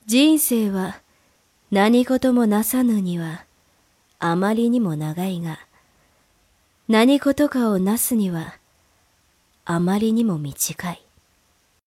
人生は何事もなさぬにはあまりにも長いが、何事かをなすにはあまりにも短い。